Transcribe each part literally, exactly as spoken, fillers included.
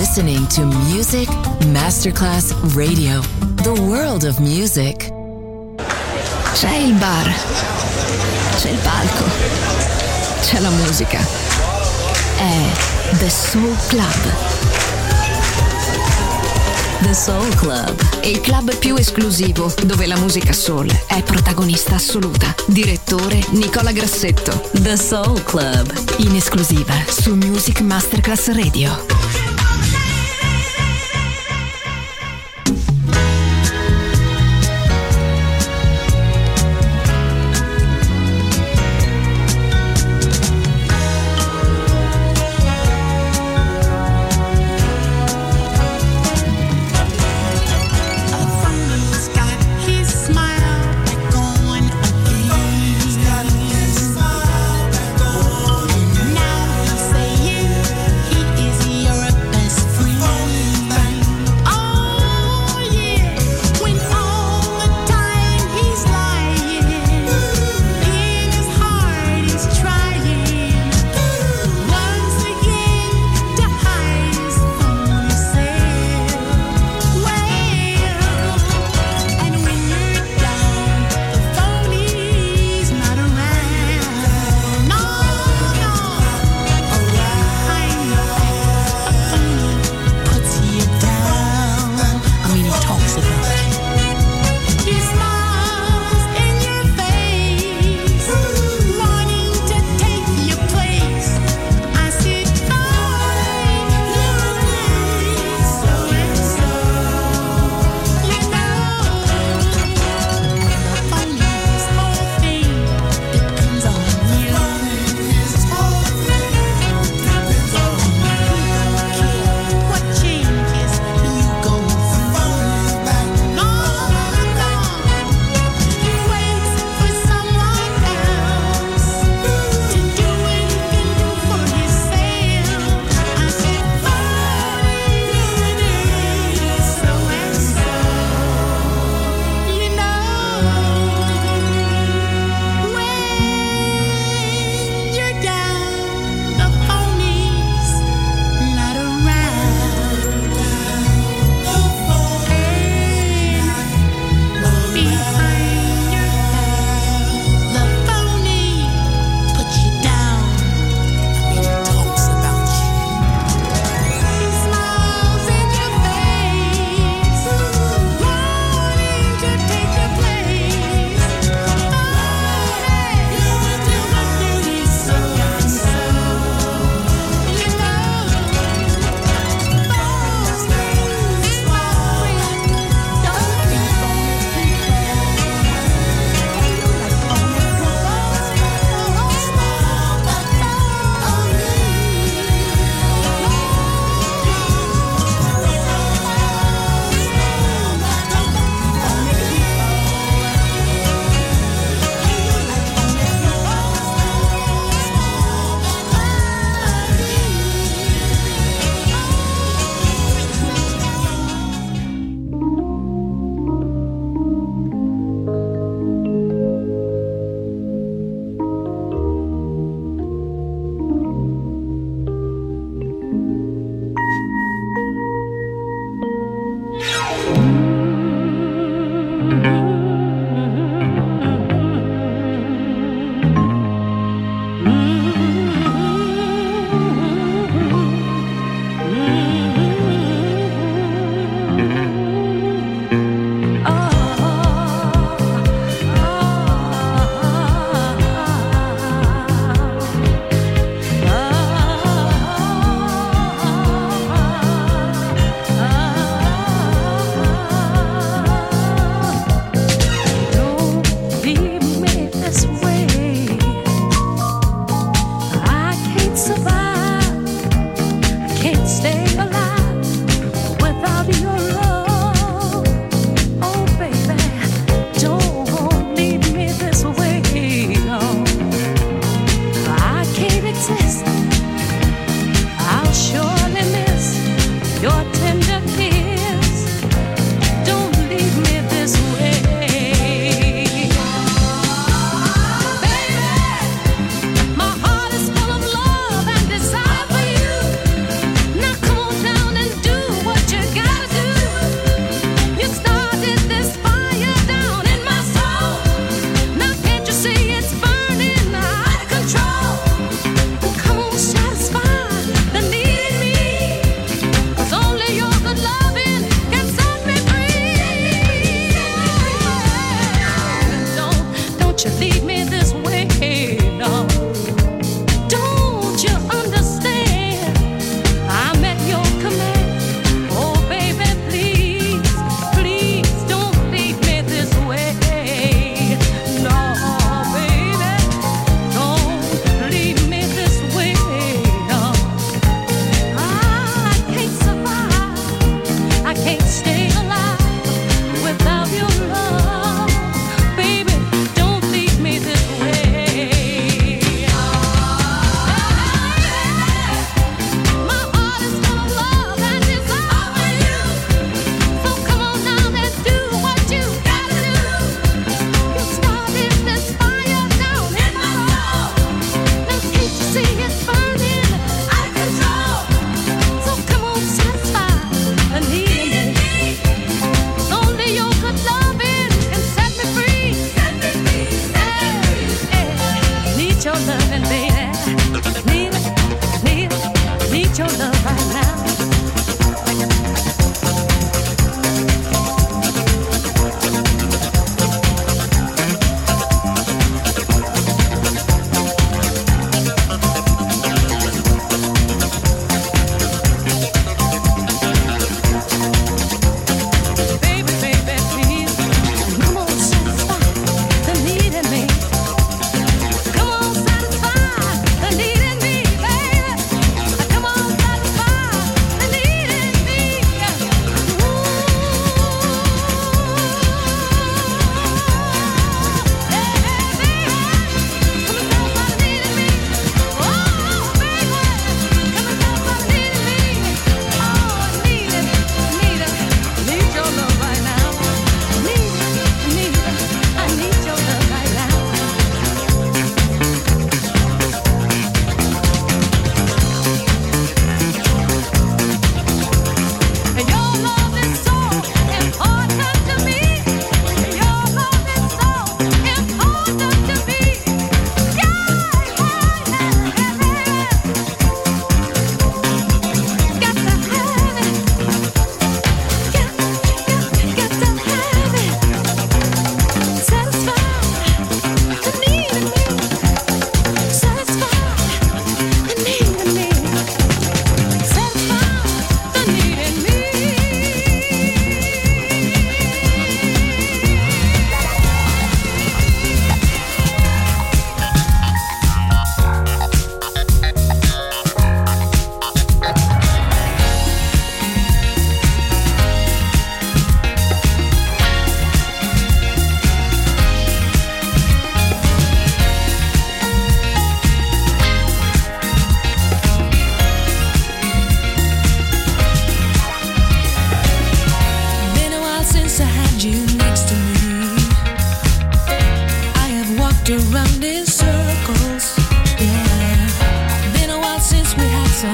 listening to Music Masterclass Radio, the world of music. C'è il bar, c'è il palco, c'è la musica. È The Soul Club. The Soul Club, il club più esclusivo dove la musica soul è protagonista assoluta. Direttore Nicola Grassetto. The Soul Club, in esclusiva su Music Masterclass Radio. Now he's saying he is your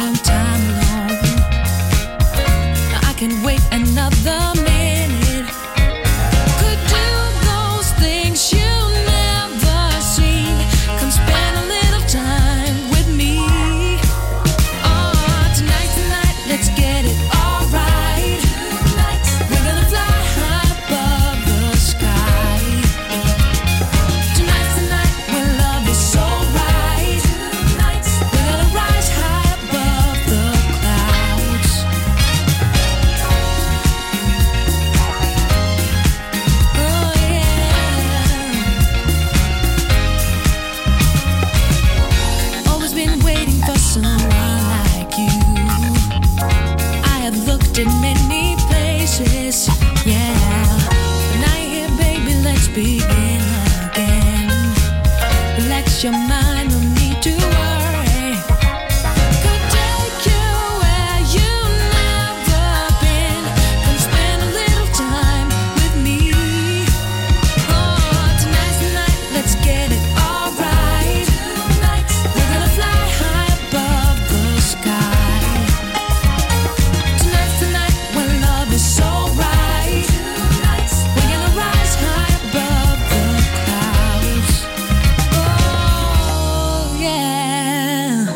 long time alone. I can wait another minute. Could do those things you've never seen. Come spend a little time with me. Oh, tonight, tonight, let's get it all right. We're gonna fly high above the sky. Tonight, tonight, when love is so right. We're gonna rise high above the clouds. Oh yeah. Always been waiting for someone like you. I have looked in many places, yeah. But now you're here, baby, let's begin again. Relax your mind, no need to worry. Could take you where you've never been. Come spend a little time with me. Oh, tonight, tonight, let's get it all right. We're gonna fly high above the sky. Tonight, tonight, when love is so right. We're gonna rise high above the clouds. Oh, yeah.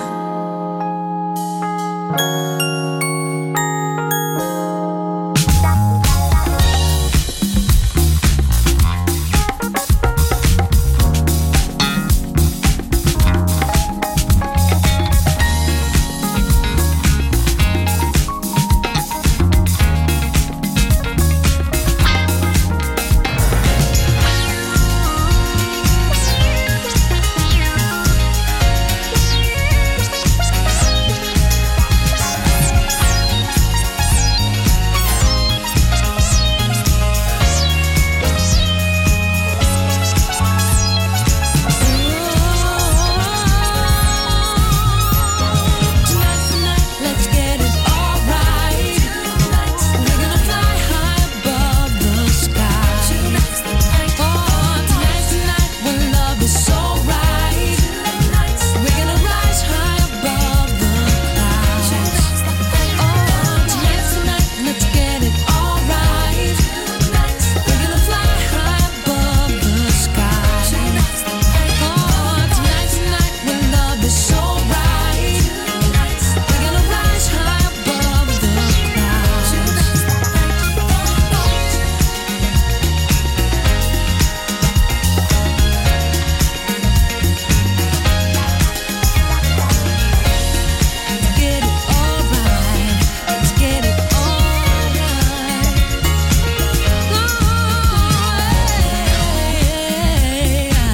Tonight, tonight, let's get it all right. We're gonna fly high above the sky. Oh, tonight, tonight, when love is so right. We're gonna rise high above the clouds. Oh, tonight, tonight, let's get it all right. We're gonna fly high above the sky. Oh, tonight, tonight, when love is so right. We're gonna rise high above the clouds. Get it all right. Let's get it all right. Oh, yeah.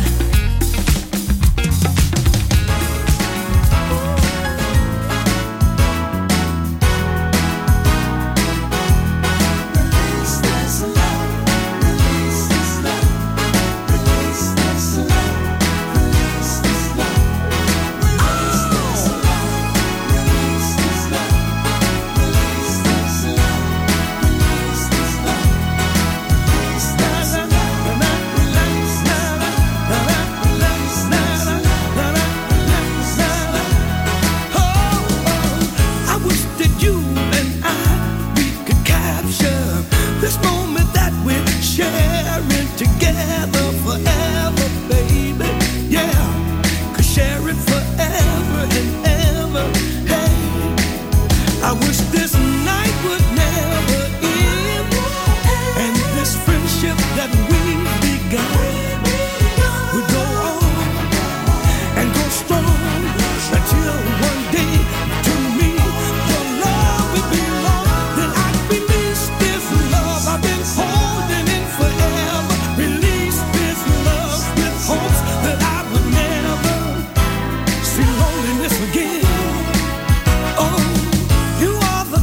I wish that you and I, we could capture this moment that we're sharing together forever, baby. Yeah, could share it forever and ever. Hey, I wish this night would never end, and this friendship that we've begun would go on and go strong until one day to me your love would belong. Then I'd release this love I've been holding in forever. Release this love with hopes that I would never see loneliness again. Oh, you are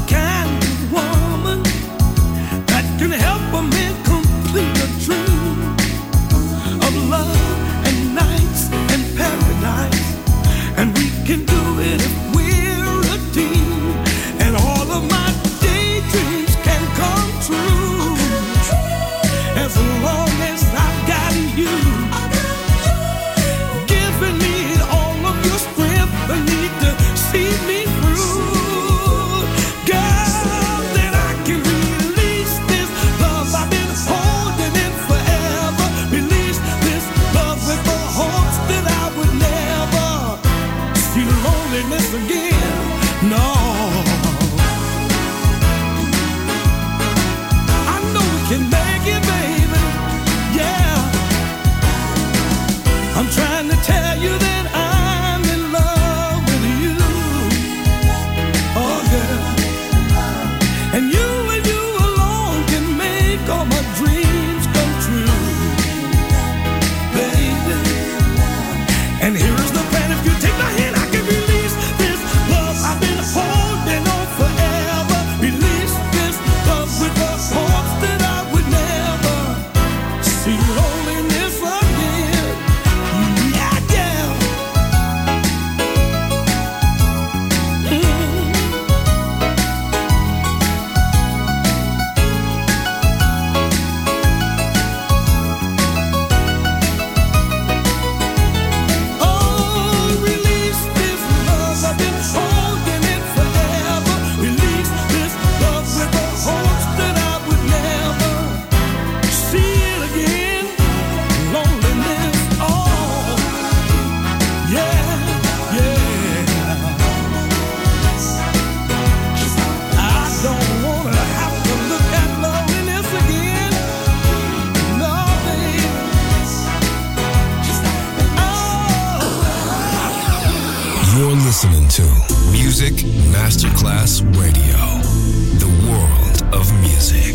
Music Masterclass Radio. The world of music.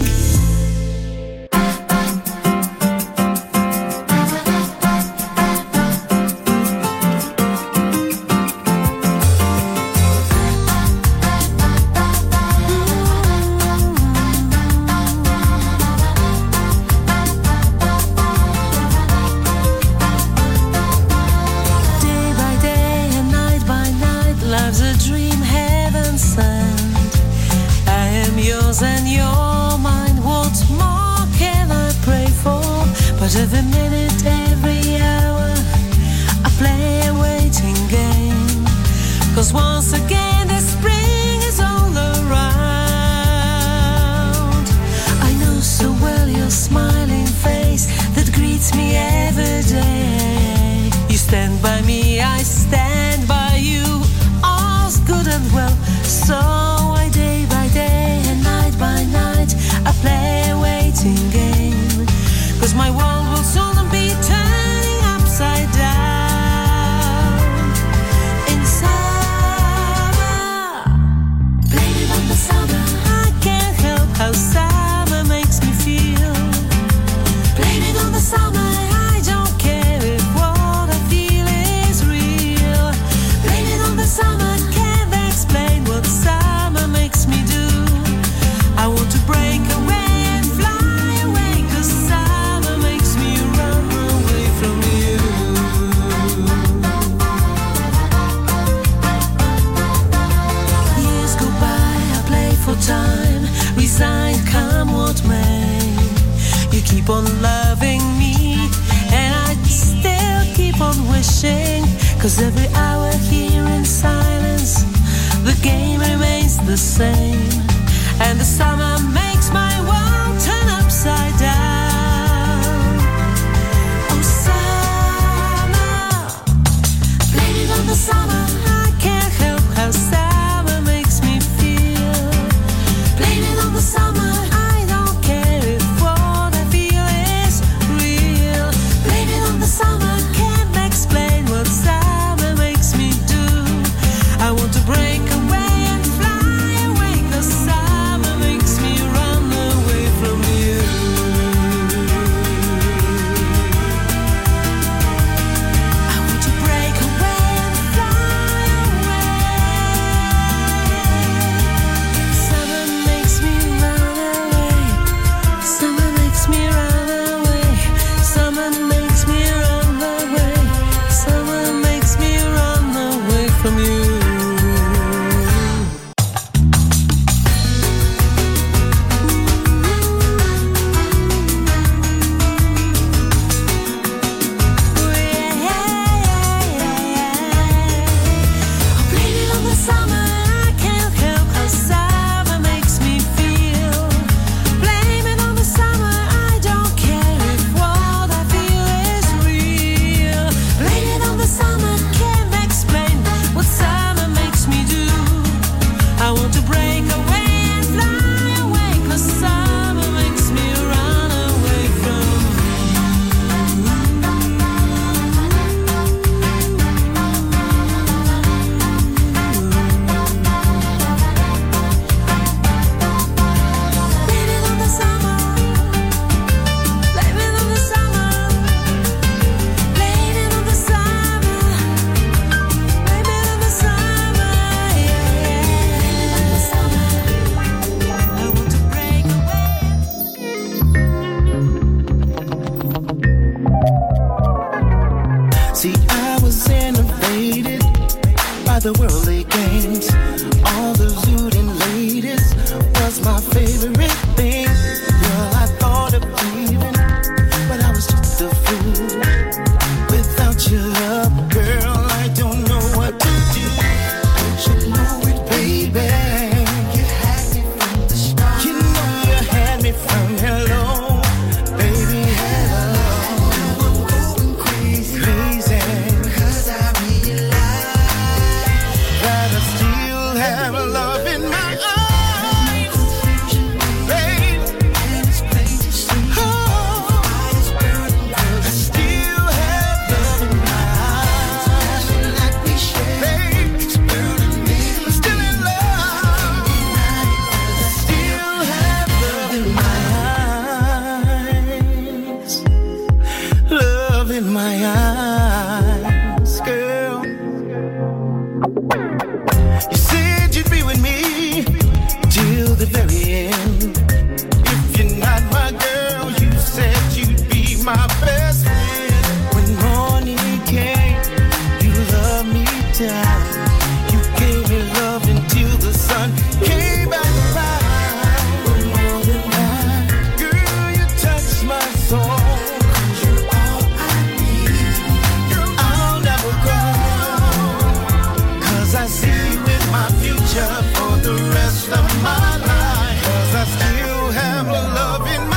Every minute, every hour, I play a waiting game. Cause once again the spring is all around. I know so well your smiling face that greets me every day. You stand by me, I stand by you, all's good and well. So I day by day and night by night I play a waiting game. Cause my world will soon be turning upside down. In summer, blame it on the summer. I can't help how summer makes me feel. Blame it on the summer. I don't care if what I feel is real. Blame it on the summer. Can't explain what summer makes me do. I want to break away. Time, resigned, come what may. You keep on loving me, and I still keep on wishing. Cause every hour here in silence, the game remains the same. And the summer makes my world turn upside down. Oh summer, blame it on the summer. I can't help how summer makes me feel. Blame it on the summer. I don't care if what I feel is real. Blame it on the summer. Can't explain what summer makes me do. I want to break away and fly away. Cause summer makes me run away from you. I want to break away and fly away. Summer makes me run away. Summer makes me run away. Summer makes me run away. Summer makes me run away from you. Blame it on the summer. I can't help how summer makes me feel. Blame it on the summer. I don't care if what I feel is real. Blame it on the summer. Can't explain what summer makes me do. I want to break away and fly away. Cause summer makes me run away from Blame it on the summer. Blame it on the summer. Blame it on the summer. Blame it on the summer. Yeah, yeah. I want to break away. See, I was innovated by the worldly games. All the looting ladies was my favorite thing. Girl, I thought of leaving, but I was just a fool. Without your love, girl, I don't know what to do. Don't you know it, baby? You had me from the start. You know you had me from hello, baby, hello. I'm going crazy, crazy. Cause I realize that I still have love in my eyes, babe. And it's plain to see. Oh, I still have love in my eyes, like we share, babe. It's burning me, still in the rest of my life. 'Cause I still have love in my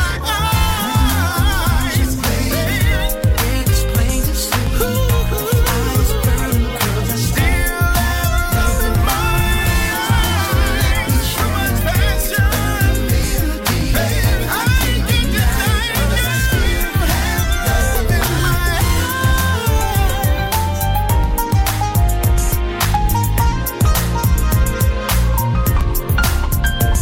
eyes. It's plain to see. Eyes burn 'cause I still have love in my eyes. So much passion, baby, I can deny it. I still have love in my eyes.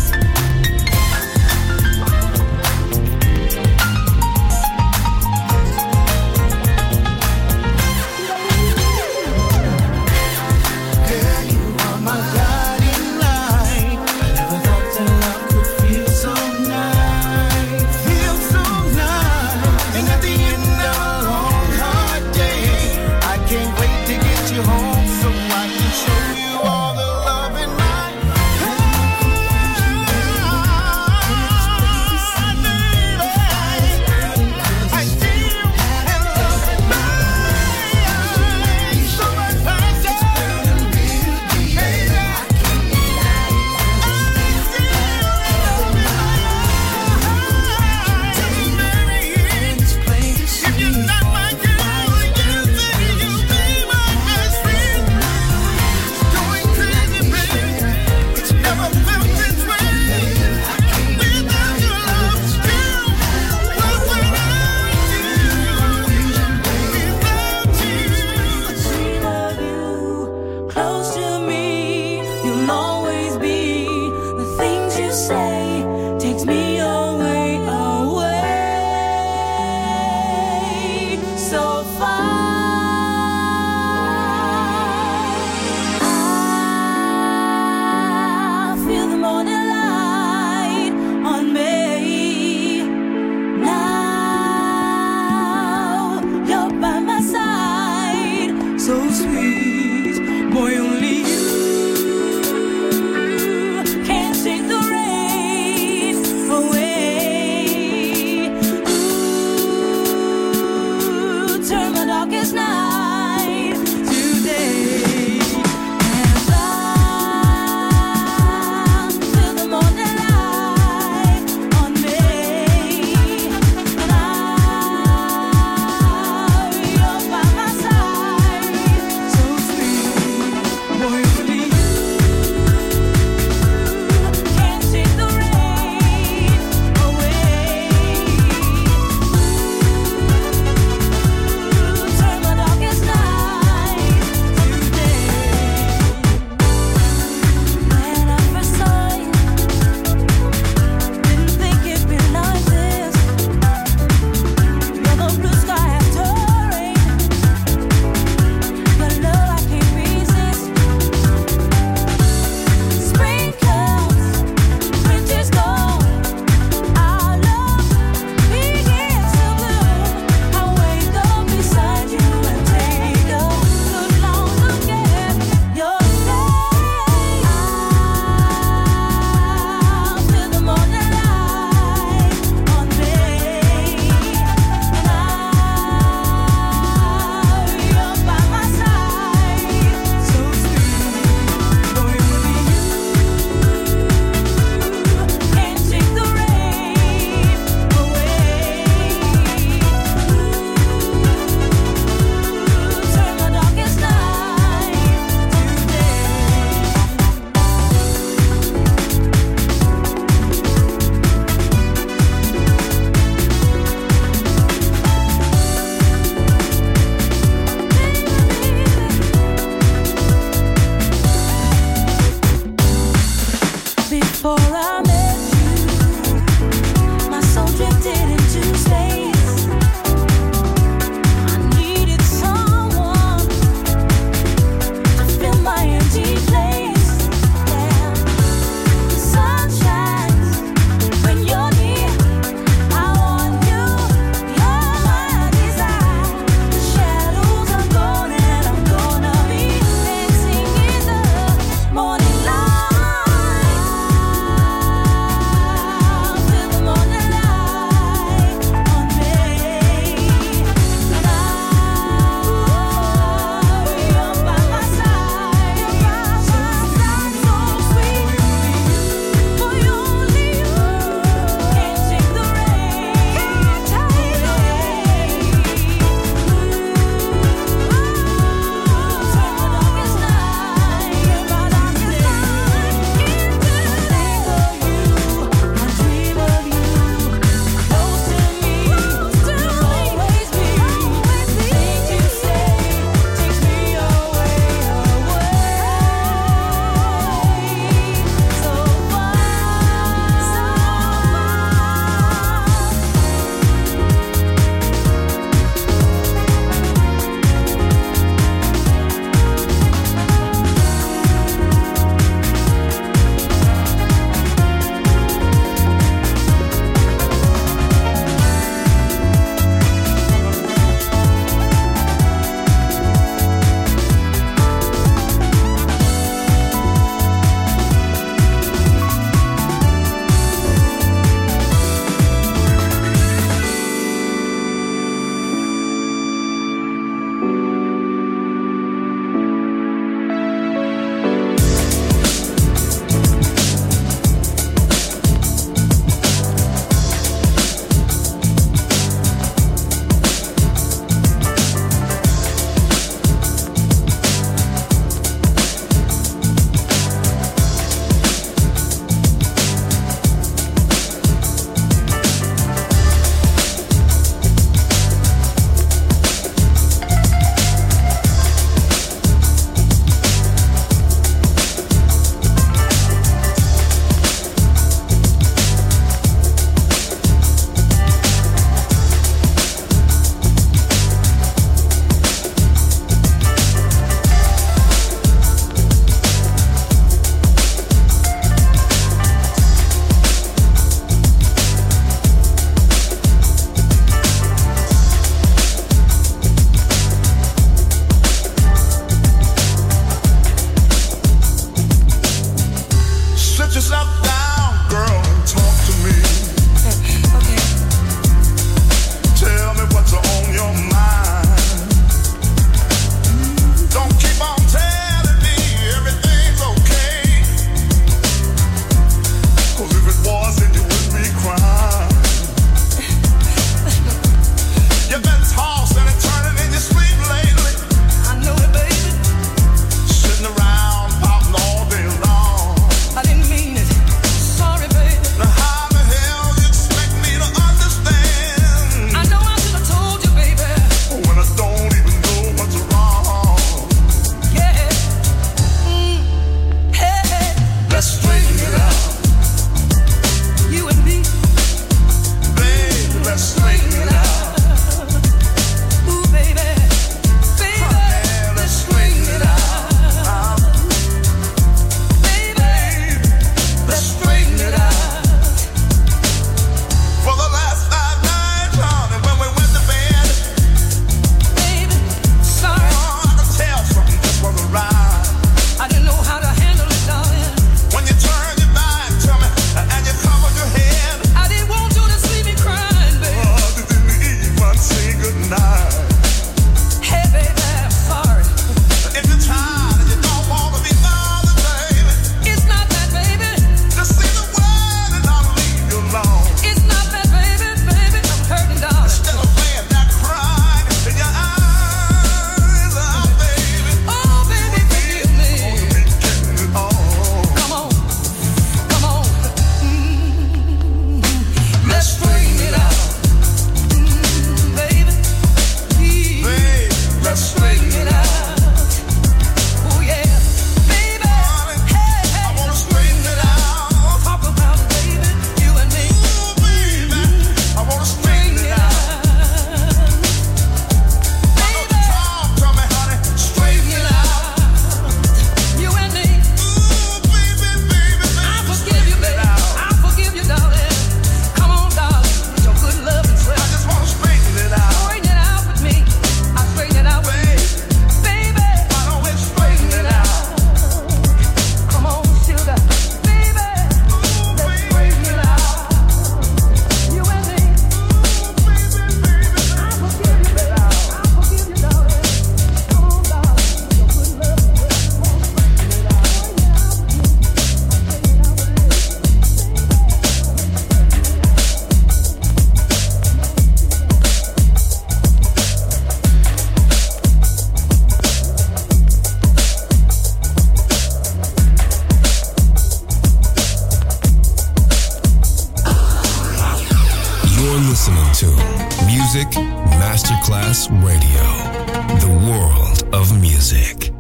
Music Masterclass Radio, the world of music.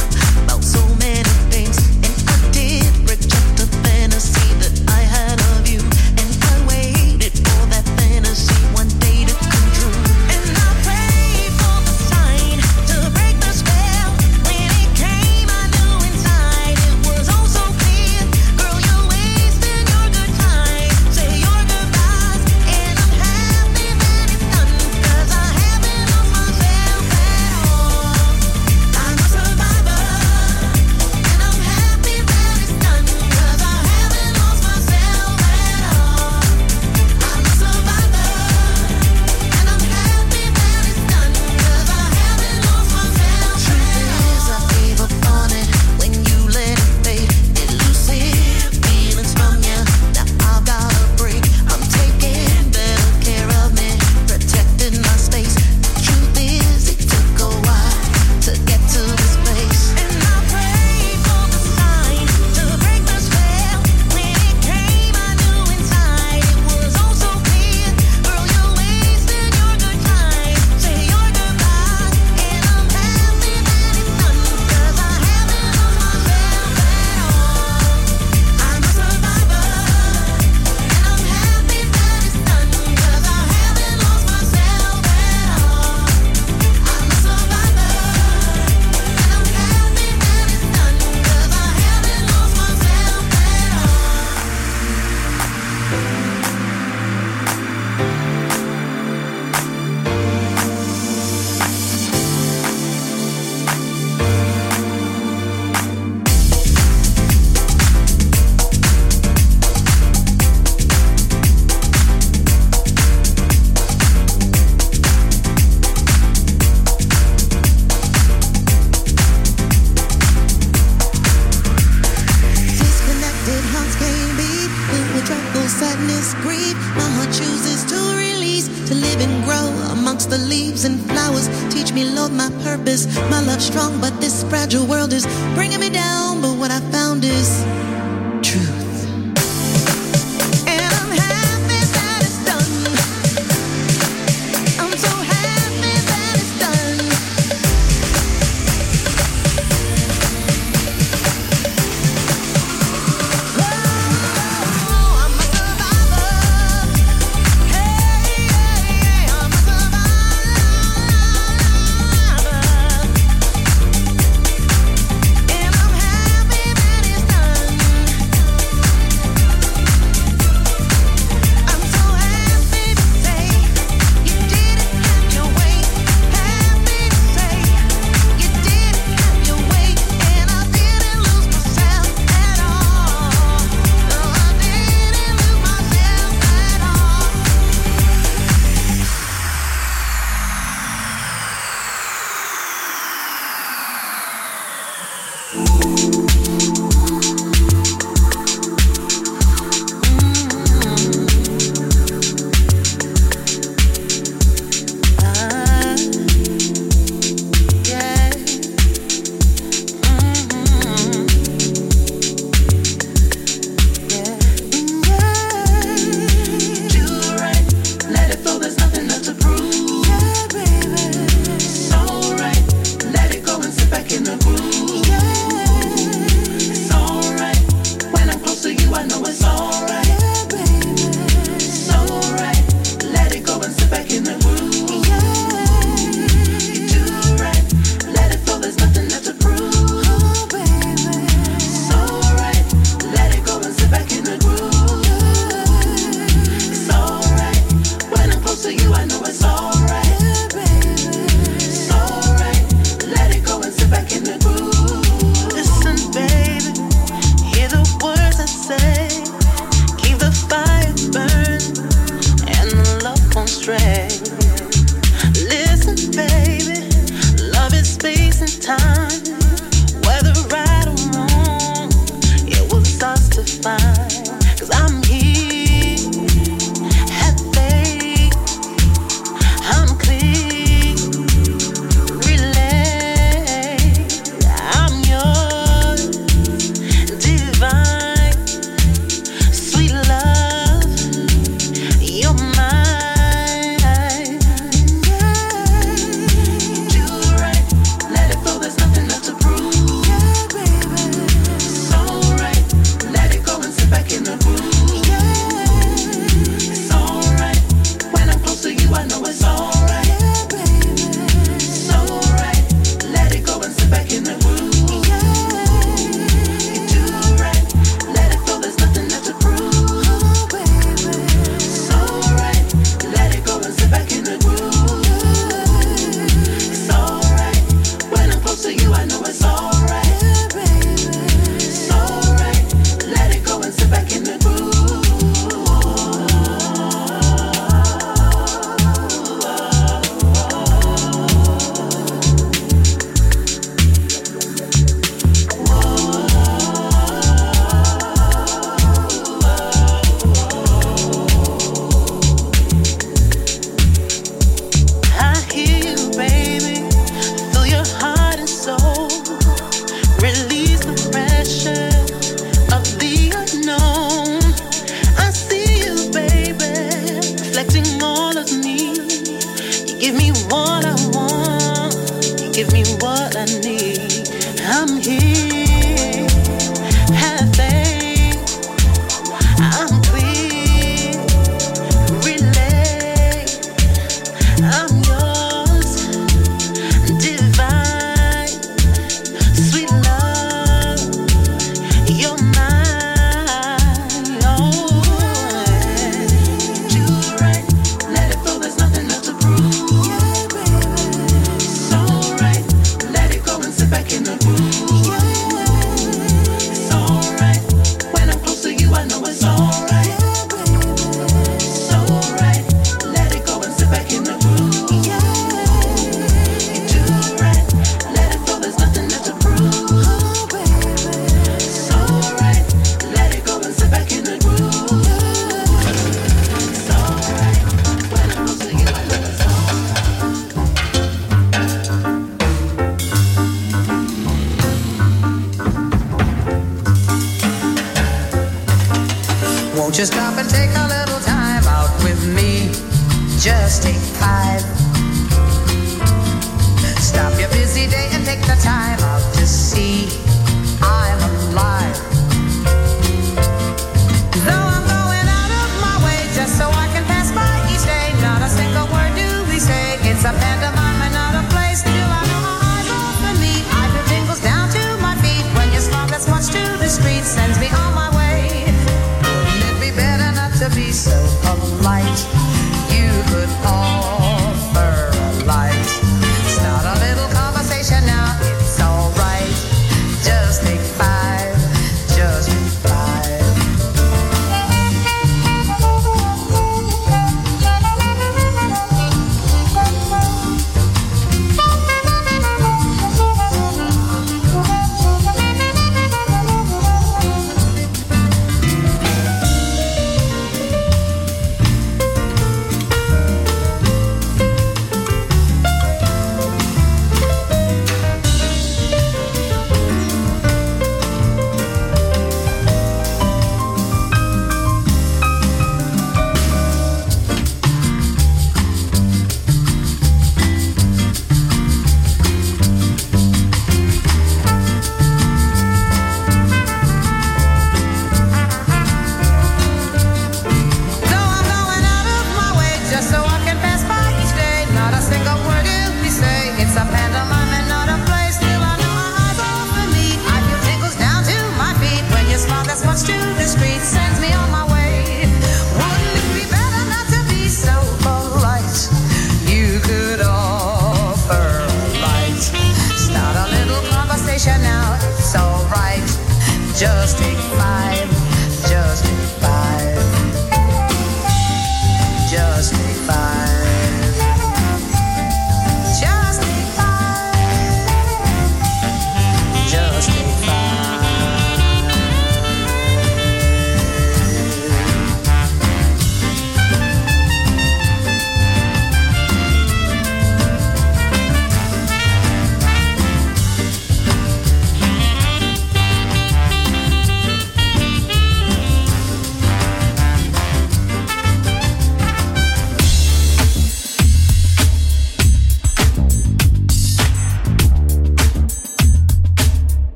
Fantasy that I had of you. grow amongst the leaves and flowers. Teach me, Lord, my purpose. My love strong, but this fragile world is bringing me down. But what I found is truth. Won't you stop and take a little time out with me? Just take five. Stop your busy day and take the time out to see I'm alive. Though I'm going out of my way just so I can pass by each day, not a single word do we say. It's a pantomime and not a play. Still I know my eyes open me. I feel tingles down to my feet when your smile that's much to the street sends me on my way. Wouldn't it be better not to be so polite? You could offer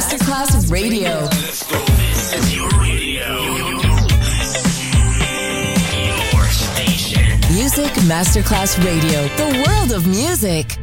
Masterclass Radio. Let's go. This is your radio. Your station. Music Masterclass Radio. The world of music.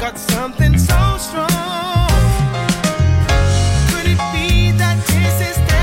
Something so strong. Could it be that this is the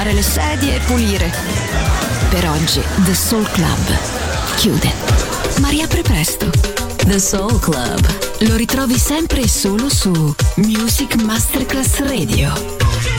sistemare le sedie e pulire. Per oggi The Soul Club chiude, ma riapre presto. The Soul Club. Lo ritrovi sempre e solo su Music Masterclass Radio.